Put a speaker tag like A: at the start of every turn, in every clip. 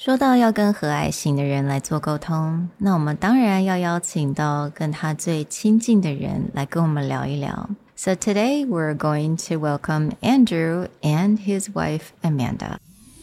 A: 說到要跟和藹型的人來做溝通，那我們當然要邀請到跟他最親近的人來跟我們聊一聊。So today we're going to welcome Andrew and his wife Amanda.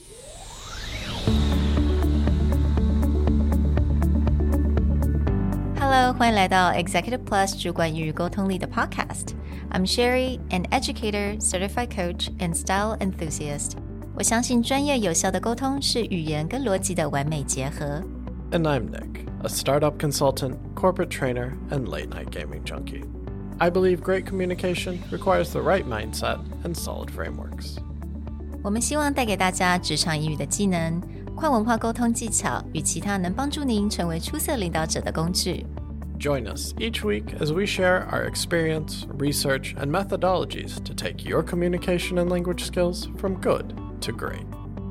A: Hello, 歡迎來到 Executive Plus 主管與溝通力的 Podcast. I'm Sherry, an educator, certified coach, and style enthusiast. 我相信專業有效的溝通是語言跟邏輯的完美結合。
B: And I'm Nick, a startup consultant, corporate trainer, and late-night gaming junkie. I believe great communication requires the right mindset and solid frameworks.
A: 我們希望帶給大家職場英語的技能、跨文化溝通技巧與其他能幫助您成為出色領導者的工具。
B: Join us each week as we share our experience, research, and methodologies to take your communication and language skills from good to great.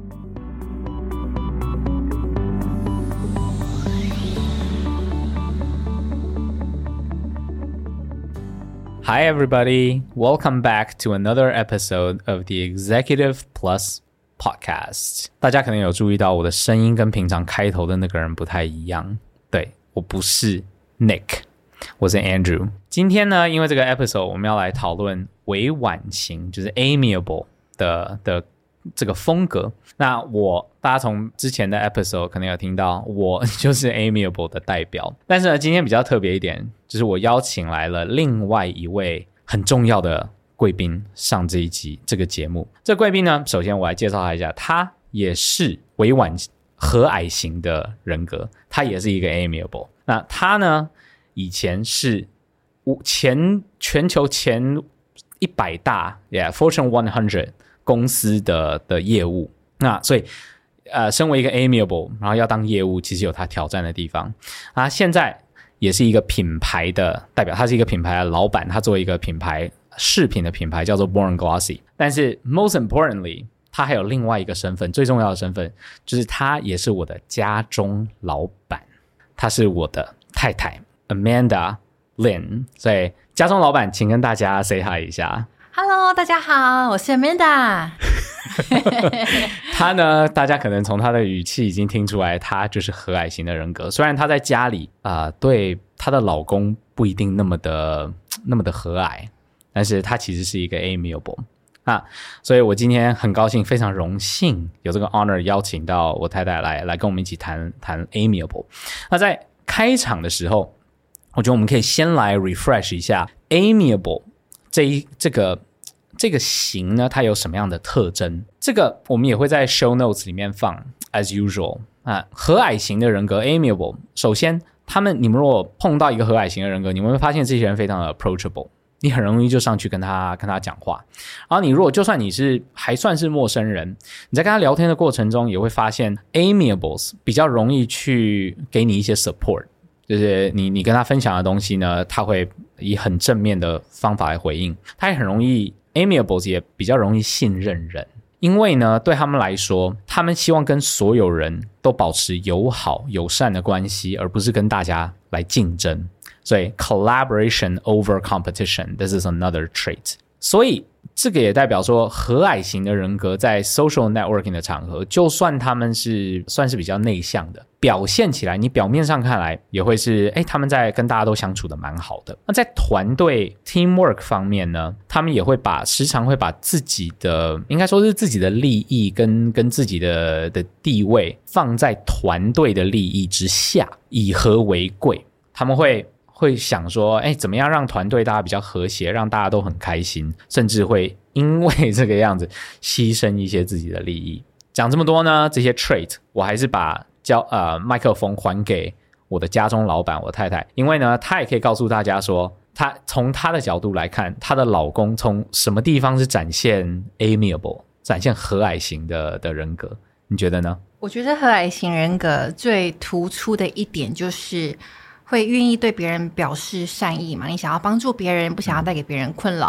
C: Hi everybody, welcome back to another episode of the Executive Plus Podcast. 大家可能有注意到我的聲音跟平常開頭的那個人不太一樣。對，我不是 Nick， 我是 Andrew。今天呢，因為這個 episode 我們要來討論委婉型，就是 amiable 的這個風格。那大家從之前的 episode 可能有聽到，我就是 amiable 的代表。但是呢，今天比較特別一點，就是我邀請來了另外一位很重要的貴賓上這一集這個節目。這個貴賓呢，首先我來介紹他一下，他也是委婉和藹型的人格，他也是一個 amiable。那他呢，以前是全球前100大 Fortune 100公司的業務。那所以身為一個 amiable， 然後要當業務，其實有他挑戰的地方。現在也是一個品牌的代表，他是一個品牌的老闆，他做一個品牌飾品的品牌叫做 Born Glossy。但是 most importantly， 他還有另外一個身份，最重要的身份就是他也是我的家中老闆，他是我的太太 Amanda Lin。所以家中老闆，請跟大家 say hi 一下。
D: Hello， 大家好，我是 Amanda。
C: 他呢，大家可能從他的語氣已經聽出來，他就是和藹型的人格。雖然他在家裡對他的老公不一定那麼的和藹，但是他其實是一個 amiable 所以我今天很高興，非常榮幸有這個 honor 邀請到我太太來跟我們一起談 amiable。那在開場的時候，我覺得我們可以先來 refresh 一下 amiable 這個型呢，它有什麼樣的特徵？這個我們也會在 show notes 裡面放 as usual 和藹型的人格 amiable， 首先你們如果碰到一個和藹型的人格，你們會發現這些人非常的 approachable， 你很容易就上去跟他講話。然後你如果就算你是還算是陌生人，你在跟他聊天的過程中也會發現 amiables 比較容易去給你一些 support， 就是你跟他分享的東西呢，他會以很正面的方法來回應，他也很容易Amiables 也比較容易信任人，因為呢，對他們來說，他們希望跟所有人都保持友好友善的關係，而不是跟大家來競爭。所以 collaboration over competition, this is another trait。所以這個也代表說，和藹型的人格在 social networking 的場合，就算他們算是比較內向的，表現起來，你表面上看來也會是，他們在跟大家都相處得蠻好的。那在團隊 teamwork 方面呢，他們也會時常會把自己的，應該說是自己的利益跟自己的地位放在團隊的利益之下，以和為貴。他們會想說，怎麼樣讓團隊大家比較和諧，讓大家都很開心，甚至會因為這個樣子犧牲一些自己的利益。講這麼多呢，這些 trait 我還是把麥克風還給我的家中老闆，我太太，因為呢，她也可以告訴大家說，她從她的角度來看，她的老公從什麼地方是展現 amiable， 展現和藹型的人格，你覺得呢？
D: 我覺得和藹型人格最突出的一點就是會願意對別人表示善意嘛，你想要幫助別人，不想要帶給別人困擾。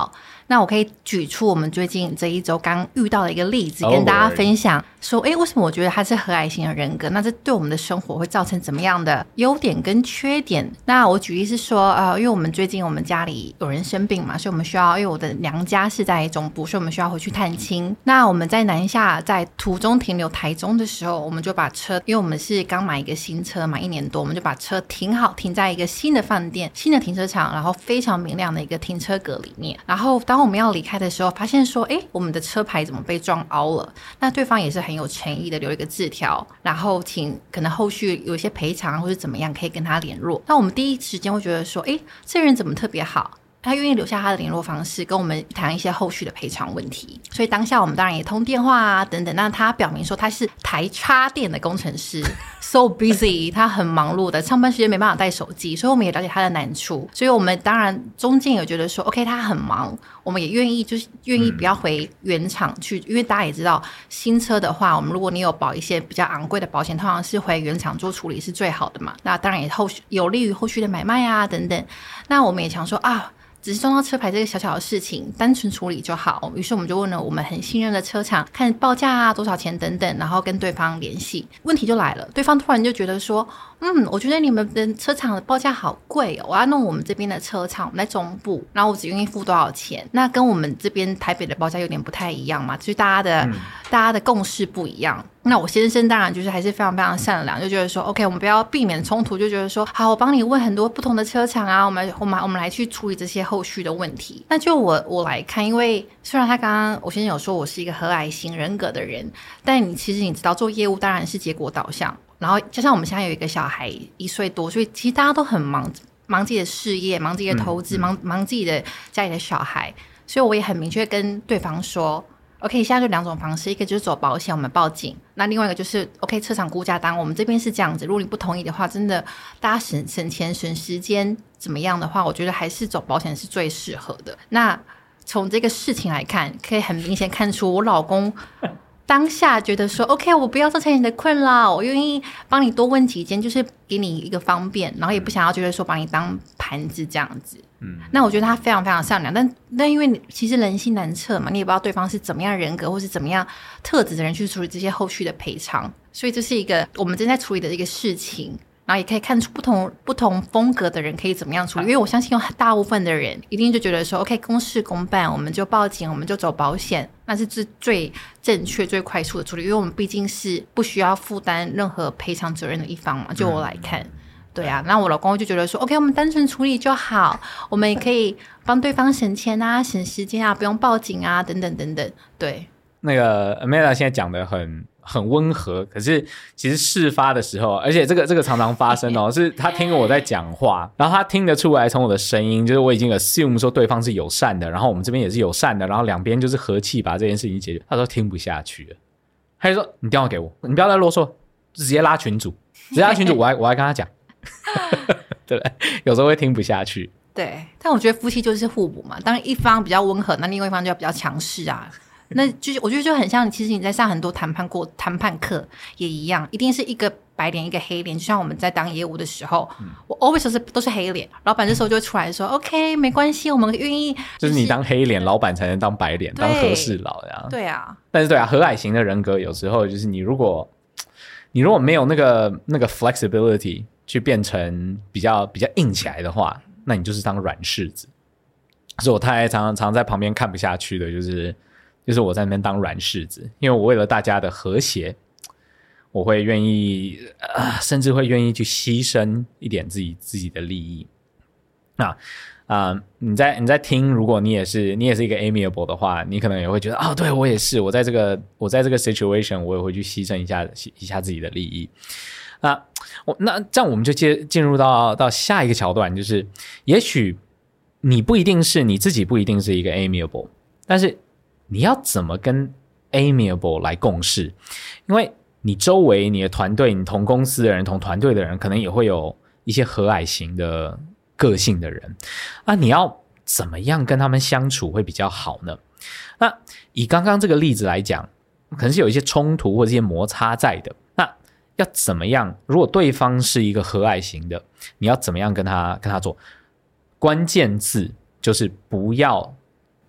D: 那我可以舉出我們最近這一周剛遇到的一個例子，跟大家分享說，為什麼我覺得他是和藹型的人格？那這對我們的生活會造成怎麼樣的優點跟缺點？那我舉例是說，因為我們最近我們家裡有人生病嘛，所以我們需要，因為我的娘家是在中部，所以我們需要回去探親。那我們在南下，在途中停留台中的時候，我們就把車，因為我們是剛買一個新車嘛，1年多，我們就把車停好，停在一個新的飯店、新的停車場，然後非常明亮的一個停車格裡面。然後當我們要離開的時候，發現說，我們的車牌怎麼被撞凹了？那對方也是很有誠意的留一個字條，然後請可能後續有一些賠償或是怎麼樣，可以跟他聯絡。那我們第一時間會覺得說，這人怎麼特別好？他願意留下他的聯絡方式，跟我們談一些後續的賠償問題。所以當下我們當然也通電話啊等等。那他表明說他是台插電的工程師，so busy， 他很忙碌的，上班時間沒辦法帶手機，所以我們也了解他的難處。所以我們當然中間有覺得說 ，OK， 他很忙，我們也願意不要回原廠去，因為大家也知道新車的話，我們如果你有保一些比較昂貴的保險，通常是回原廠做處理是最好的嘛。那當然也有利於後續的買賣啊等等。那我們也想說只是撞到車牌這個小小的事情，單純處理就好。於是我們就問了我們很信任的車廠，看報價啊多少錢等等，然後跟對方聯繫。問題就來了，對方突然就覺得說，我覺得你們的車廠的報價好貴哦，我要弄我們這邊的車廠，我們在中部，然後我只願意付多少錢？那跟我們這邊台北的報價有點不太一樣嘛，就是大家的共識不一樣。那我先生當然就是還是非常非常善良，就覺得說 OK， 我們不要避免衝突，就覺得說好，我幫你問很多不同的車廠啊，我們來去處理這些後續的問題。那就我來看，因為雖然他剛剛我先生有說我是一個和藹型人格的人，但其實你知道做業務当然是結果導向，然後加上我們現在有一個小孩1歲多，所以其實大家都很忙自己的事業，忙自己的投資，忙自己的家裡的小孩，所以我也很明確跟對方說OK， 現在就2種方式，一個就是走保險，我們報警；那另外一個就是 OK， 車廠估價單，我們這邊是這樣子。如果你不同意的話，真的大家省錢省時間怎麼樣的話，我覺得還是走保險是最適合的。那從這個事情來看，可以很明顯看出我老公當下覺得說 OK， 我不要造成你的困擾，我願意幫你多問幾間，就是給你一個方便，然後也不想要覺得說把你當盤子這樣子。那我覺得他非常非常善良，但因為其實人心難測嘛，你也不知道對方是怎麼樣人格或是怎麼樣特質的人去處理這些後續的賠償，所以這是一個我們正在處理的一個事情，然後也可以看出不同風格的人可以怎麼樣處理。因為我相信有大部分的人一定就覺得說 OK， 公事公辦，我們就報警，我們就走保險，那是最正確最快速的處理，因為我們畢竟是不需要負擔任何賠償責任的一方嘛。就我來看对啊，那我老公就覺得說 OK， 我們单純處理就好，我們也可以幫对方省錢啊省時間啊，不用報警啊等等等等。对，
C: 那個 Amanda 現在講的很溫和，可是其實事發的時候，而且這個常常發生是他聽我在講話，然後他聽得出來從我的聲音，就是我已經 assume 說對方是友善的，然後我們這邊也是友善的，然後兩邊就是和氣把這件事情解決。他說聽不下去了，他就說你電話給我，你不要再囉嗦，直接拉群組，我還跟他講。對不对？有時候會聽不下去。
D: 对，但我覺得夫妻就是互補嘛。當一方比較溫和，那另外一方就要比較強勢啊。那就是我覺得就很像，其實你在上很多談判課也一樣，一定是一個白臉一個黑臉。就像我們在當業務的時候，我 always 都是黑臉，老闆這時候就會出來說OK， 沒關係，我們願意。就是你
C: 當黑臉，老闆才能當白臉，當和事佬呀。
D: 對啊，
C: 但是對啊，和藹型的人格有時候就是你如果沒有那個 flexibility。去變成比較硬起來的話，那你就是當軟柿子。所以我太太常在旁邊看不下去的，就是我在那邊當軟柿子，因为我為了大家的和諧，我會願意甚至會願意去犧牲一點自己的利益。那你在聽，如果你也是一個 amiable 的話，你可能也會覺得對，我也是，我在這個 situation 我也會去犧牲一下自己的利益。那這樣我們就進入到下一個橋段，就是也許你自己不一定是一個 amiable， 但是你要怎麼跟 amiable 來共事？因為你周圍你的團隊，你同公司的人同團隊的人可能也會有一些和藹型的個性的人，你要怎麼樣跟他們相處會比較好呢？那以剛剛這個例子來講，可能是有一些衝突或者一些摩擦在的，那要怎麼樣？如果對方是一個和藹型的，你要怎麼樣跟他做？關鍵字就是不要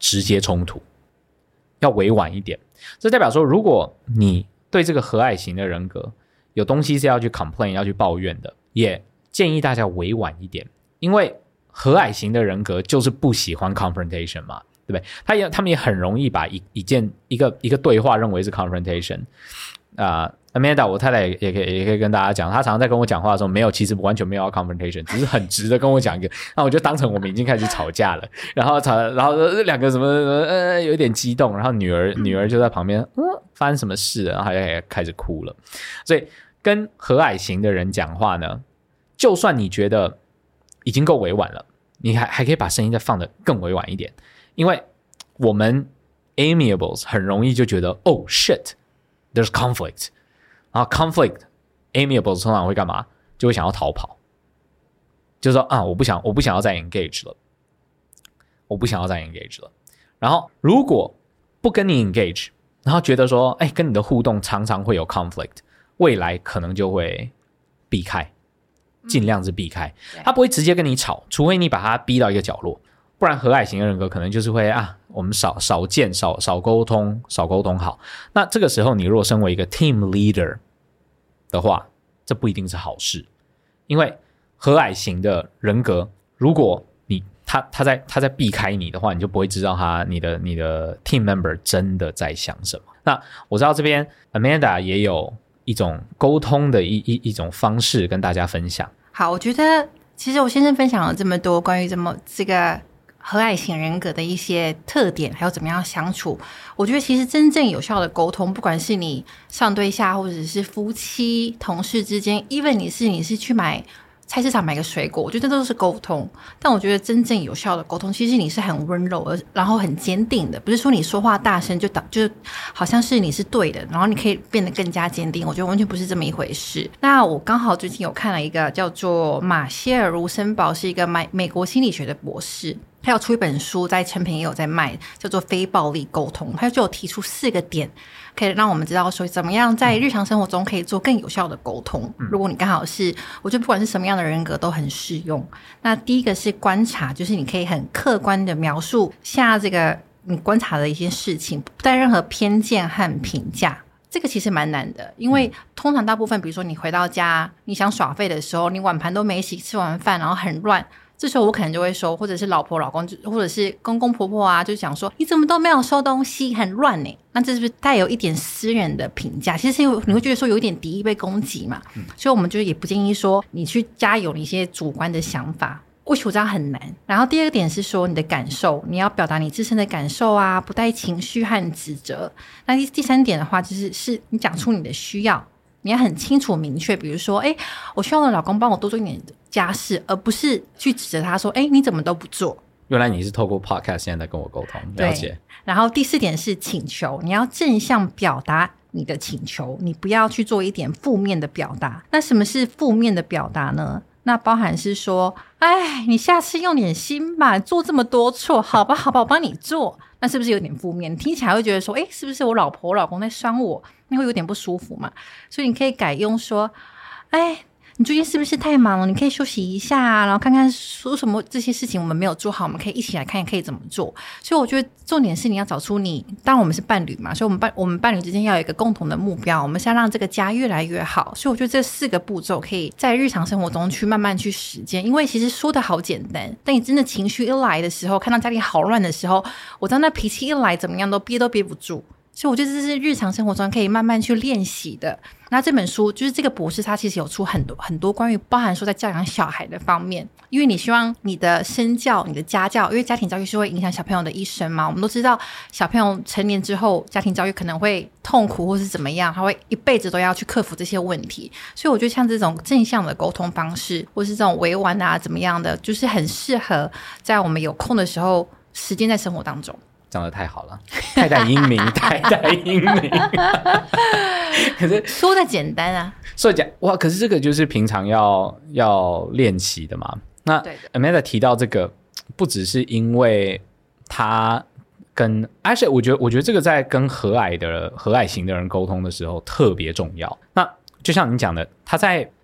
C: 直接衝突，要委婉一點。這代表說，如果你對這個和藹型的人格有東西是要去 complain 要去抱怨的，也建議大家委婉一點，因為和藹型的人格就是不喜歡 confrontation 嘛，对不对？他們也很容易把一個對話認為是 confrontation。Amanda 我太太也可以跟大家講，她常常在跟我講話的時候，沒有，其實完全沒有要 confrontation， 只是很直的跟我講一個，那我就當成我們已經開始吵架了，然後兩個什麼有點激動，然後女兒就在旁邊發生什麼事了，然後也開始哭了。所以跟和藹型的人講話呢，就算你覺得已經夠委婉了，你還可以把聲音再放得更委婉一點，因為我們 amiables 很容易就覺得oh shit there's conflict， 然後 conflict amiables 通常會幹嘛？就會想要逃跑，就說我不想要再 engage 了，我不想要再 engage 了。然後如果不跟你 engage， 然後覺得說跟你的互動常常會有 conflict， 未來可能就會避開，盡量是避開，他不會直接跟你吵，除非你把他逼到一個角落，不然和藹型的人格可能就是會我們少見少溝通好。那這個時候你如果身為一個 team leader 的話，這不一定是好事，因為和藹型的人格，如果他在避開你的話，你就不會知道你的 team member 真的在想什麼。那我知道這邊 Amanda 也有一種溝通的一種方式跟大家分享。好，
D: 我覺得其實我先生分享了這麼多關於這個和藹型人格的一些特點，還有怎麼樣相處。我覺得其實真正有效的溝通，不管是你上對下，或者是夫妻、同事之間 ，even 你是去菜市場買個水果，我覺得这都是溝通。但我覺得真正有效的溝通，其實你是很溫柔然後很堅定的，不是說你說話大聲就好像是你是對的，然後你可以變得更加堅定。我覺得完全不是這麼一回事。那我剛好最近有看了一個叫做馬歇爾·盧森堡，是一個美國心理學的博士。他有出一本書，在誠品也有在賣，叫做《非暴力溝通》。他就有提出4個點，可以讓我們知道說怎麼樣在日常生活中可以做更有效的溝通。如果你剛好是，我覺得不管是什麼樣的人格都很適用。那第一個是觀察，就是你可以很客觀的描述下這個你觀察的一些事情，不帶任何偏見和評價。這個其實蠻難的，因為通常大部分，比如說你回到家，你想耍廢的時候，你碗盤都沒洗，吃完飯然後很亂。這時候我可能就會說，或者是老婆老公，或者是公公婆婆就講說你怎麼都沒有收東西，很亂呢？那這是不是帶有一點私人的評價？其實你會覺得說有一點敵意被攻擊嘛。所以我們就也不建議說你去加有一些主觀的想法，我覺得這樣很難。然後第二個點是說你的感受，你要表達你自身的感受不帶情緒和指責。那第三點的話就是你講出你的需要，你要很清楚明確，比如說我希望我的老公幫我多做一點家事，而不是去指責他說你怎麼都不做。原来你是透过 podcast 现在跟我沟通，了解。然後第4點是請求，你要正向表達你的請求，你不要去做一點負面的表達。那什麼是負面的表達呢？那包含是說你下次用點心吧，做這麼多錯，好吧我幫你做。那是不是有點負面？你聽起來會覺得說是不是我老婆我老公在酸我，那會有點不舒服嘛。所以你可以改用說你最近是不是太忙了？你可以休息一下然後看看说什麼这些事情我們沒有做好，我们可以一起來看可以怎麼做。所以我覺得重點是你要找出當然我們是伴侶嘛，所以我們伴侶之間要有一個共同的目標，我們是要讓這個家越來越好。所以我覺得這4個步驟可以在日常生活中去慢慢去實踐。因為其實說的好簡單，但你真的情緒一來的時候，看到家裡好亂的時候，我知道那脾氣一來怎麼樣都憋不住。所以我覺得這是日常生活中可以慢慢去練習的。那這本書就是這個博士他其實有出很多關於包含說在教養小孩的方面，因為你希望你的身教你的家教，因為家庭教育是會影響小朋友的一生嘛。我們都知道小朋友成年之後家庭教育可能會痛苦或是怎麼樣，他會一輩子都要去克服這些問題。所以我覺得像這種正向的溝通方式或是這種委婉怎麼樣的，就是很適合在我們有空的時候實踐在生活當中。
C: 講得太好了，太帶英明太帶英明可是
D: 說的簡單
C: 所以哇，可是這個就是平常要練習的嘛。那 Amanda 提到這個不只是因為他跟actually我覺得這個在跟和藹型的人溝通的時候特別重要。那就像你講的，他在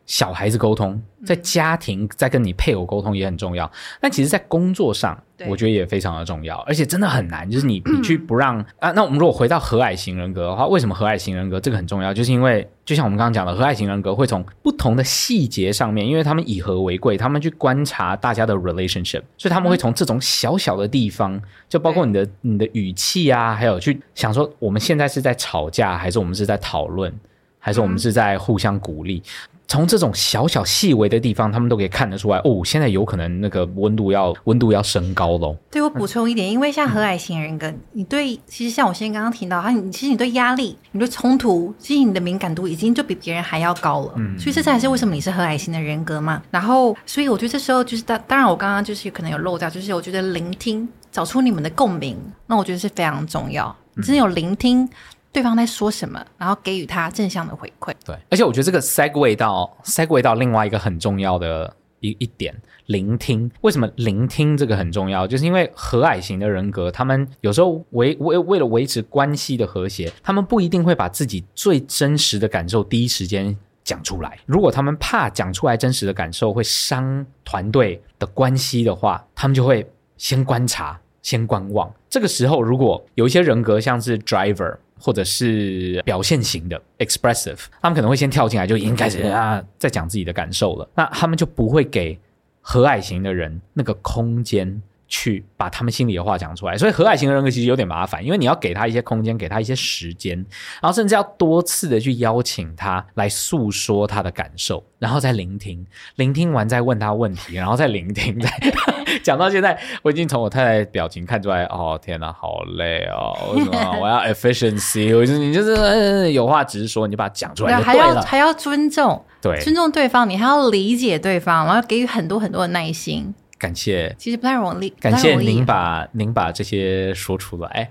C: 小孩子溝通，在家庭在跟你配偶溝通也很重要，但其實在工作上我覺得也非常的重要，而且真的很難，就是你去不讓那我們如果回到和藹型人格的话，為什麼和藹型人格這個很重要，就是因為就像我們剛剛講的，和藹型人格會從不同的細節上面，因為他們以和為貴，他們去觀察大家的 relationship， 所以他們會從這種小小的地方，就包括你的語氣啊，還有去想說我們現在是在吵架，還是我們是在討論，還是我們是在互相鼓勵，從這種小小細微的地方，他們都可以看得出来哦，現在有可能那個溫度要升高咯。对，
D: 我補充一點，因為像和藹型人格，你對其實像我先剛剛提到，其實你對壓力、你对衝突，其實你的敏感度已經就比別人還要高了。所以這才是為什麼你是和藹型的人格嘛。然後，所以我覺得這時候就是當然我剛剛就是可能有漏掉，就是我覺得聆聽，找出你們的共鳴，那我覺得是非常重要。你真的有聆聽對方在說什麼，然後給予他正向的回馈。
C: 对，而且我覺得這個 segue 到另外一個很重要的一點，聆聽。為什麼聆聽這個很重要？就是因為和藹型的人格，他們有時候為了維持關係的和諧，他們不一定會把自己最真實的感受第一時間講出來。如果他們怕講出來真實的感受會傷團隊的關係的話，他們就會先觀察，先觀望。這個時候如果有一些人格像是 driver或者是表現型的 expressive， 他们可能会先跳进來就已經開始在講自己的感受了，那他們就不會給和藹型的人那個空間去把他們心裡的話講出來。所以和藹型的人格其實有點麻煩，因為你要給他一些空間，給他一些時間，然後甚至要多次的去邀請他來訴說他的感受，然後再聆聽，聆聽完再問他問題，然後再聆聽，再講到現在我已經從我太太表情看出來，哦天哪好累哦，為什麼我要 efficiency 我就是你就是有話直說，你就把它講出來就對了，
D: 還要尊重，
C: 对，
D: 尊重對方，你還要理解對方，然後給予很多很多的耐心。
C: 感謝，
D: 其實不太容易，
C: 感謝您把這些說出來。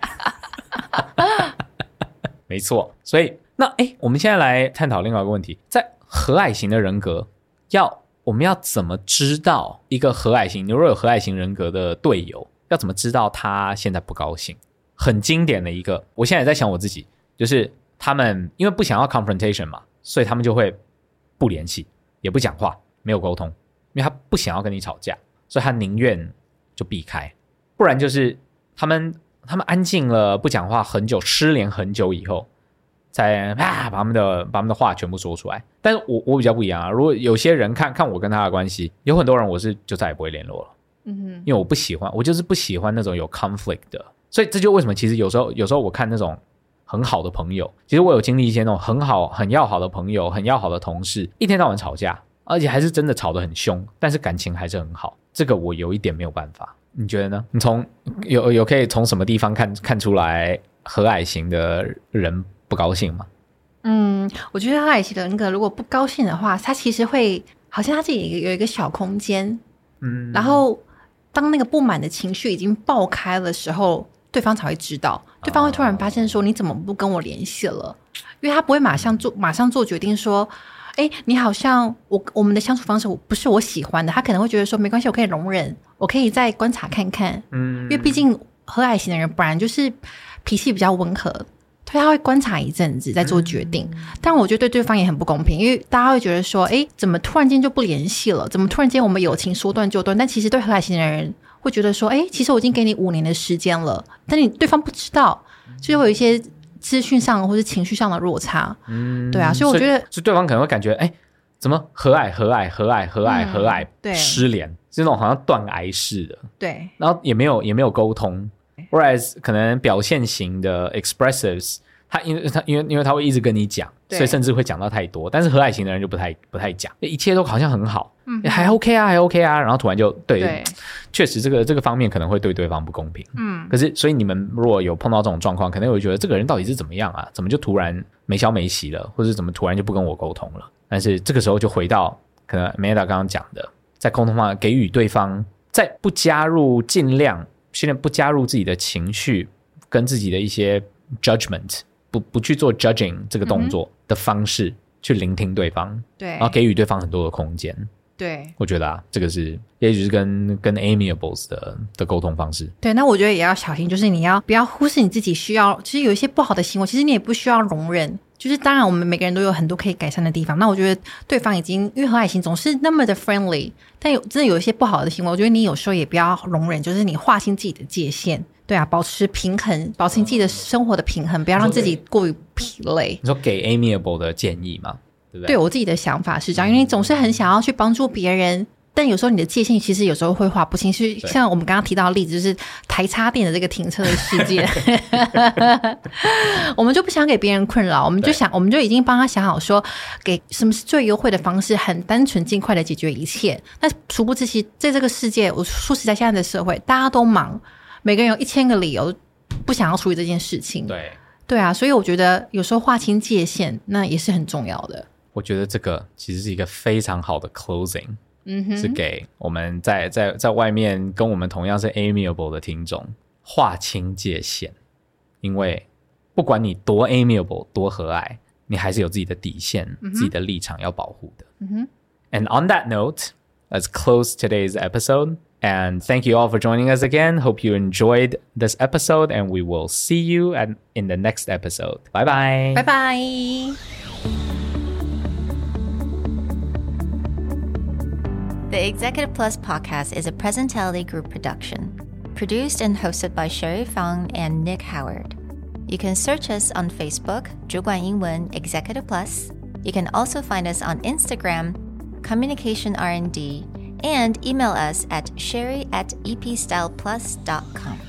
C: 沒錯，所以那我們現在來探討另外一個問題，在和藹型的人格我們要怎麼知道一個和藹型，你如果有和藹型人格的隊友，要怎麼知道他現在不高興？很經典的一個，我現在也在想我自己，就是他們因為不想要 confrontation 嘛，所以他們就會不聯繫，也不講話，沒有溝通，因為他不想要跟你吵架，所以他寧願就避開，不然就是他們安靜了不講話很久，失聯很久以後才把他們的話全部說出來。但是我比較不一樣啊，如果有些人看我跟他的關係，有很多人我是就再也不會聯絡了，因為我就是不喜歡那種有 conflict 的。所以這就為什麼其實有時候我看那種很好的朋友，其實我有經歷一些那種很要好的朋友，很要好的同事，一天到晚吵架，而且還是真的吵得很兇，但是感情還是很好，這個我有一點沒有辦法。你覺得呢？你有可以從什麼地方看出來和藹型的人不高興嗎？
D: 我覺得和藹型的人格如果不高興的話，他其實會好像他自己有一個小空間，然後當那個不滿的情緒已經爆開的時候，對方才會知道，對方會突然發現說你怎麼不跟我聯繫了，因為他不會馬上做決定說你好像我們的相處方式不是我喜歡的，他可能會覺得說沒關係，我可以容忍，我可以再觀察看看，因為畢竟和藹型的人本來就是脾氣比較溫和，所以他會觀察一陣子再做決定，但我覺得對對方也很不公平，因為大家會覺得說怎麼突然間就不聯繫了，怎麼突然間我們友情說斷就斷，但其實對和藹型的人會覺得說其實我已經給你5年的時間了，但你對方不知道，就會有一些資訊上或是情緒上的落差，對啊，所以我覺得
C: 所以对方可能會感覺怎麼和藹失聯，這種好像斷崖式的，
D: 對，
C: 然後也沒有溝通。Whereas 可能表現型的 expressives， 他因為他會一直跟你講，所以甚至會講到太多。但是和藹型的人就不太講，一切都好像很好，還 OK 啊，然後突然就對，確實這個方面可能會對對方不公平。可是所以你們如果有碰到這種狀況，可能會覺得這個人到底是怎麼樣啊？怎麼就突然沒消沒息了，或者怎麼突然就不跟我溝通了？但是這個時候就回到可能 Amanda 剛剛講的，在溝通方給予對方，在不加入盡量。現在不加入自己的情緒跟自己的一些 judgment， 不去做 judging 這個動作的方式，去聆聽對方，對，然後給予對方很多的空間。
D: 對，
C: 我覺得這個是也許是跟 amiables 的溝通方式。
D: 對，那我覺得也要小心，就是你不要忽視你自己需要，其實有一些不好的行為，其實你也不需要容忍， 就是當然我們每個人都有很多可以改善的地方，那我覺得對方已經因為和藹行總是那麼的 friendly， 但真的有一些不好的行為，我覺得你有時候也不要容忍，就是你劃清自己的界限，對啊，保持平衡，保持你自己的生活的平衡，不要讓自己過於疲累。
C: 你說給 amiable 的建議嗎？對不對？
D: 對，我自己的想法是這樣，因為你總是很想要去幫助別人，但有時候你的界限其實有時候會劃不清，是像我們剛剛提到的例子，就是台插電的這個停車的事件我們就不想給別人困擾，我們就已經幫他想好說給什麼是最優惠的方式，很單純盡快的解決一切。那殊不知其實在這個世界，我說實在現在的社會大家都忙，每個人有1000個理由不想要處理這件事情。对啊，所以我覺得有時候劃清界限那也是很重要的。
C: 我覺得這個其實是一個非常好的 closing，是給我們在外面跟我們同樣是 amiable 的聽眾劃清界限，因為不管你多 amiable 多和藹，你還是有自己的底線，自己的立场要保護的。And on that note, let's close today's episode. And thank you all for joining us again. Hope you enjoyed this episode, and we will see you in the next episode. Bye bye.
D: Bye bye.
A: The Executive Plus podcast is a Presentality Group production, produced and hosted by Sherry Fang and Nick Howard. You can search us on Facebook, 主管英文 Executive Plus. You can also find us on Instagram, Communication R&D, and email us at sherry@epstyleplus.com.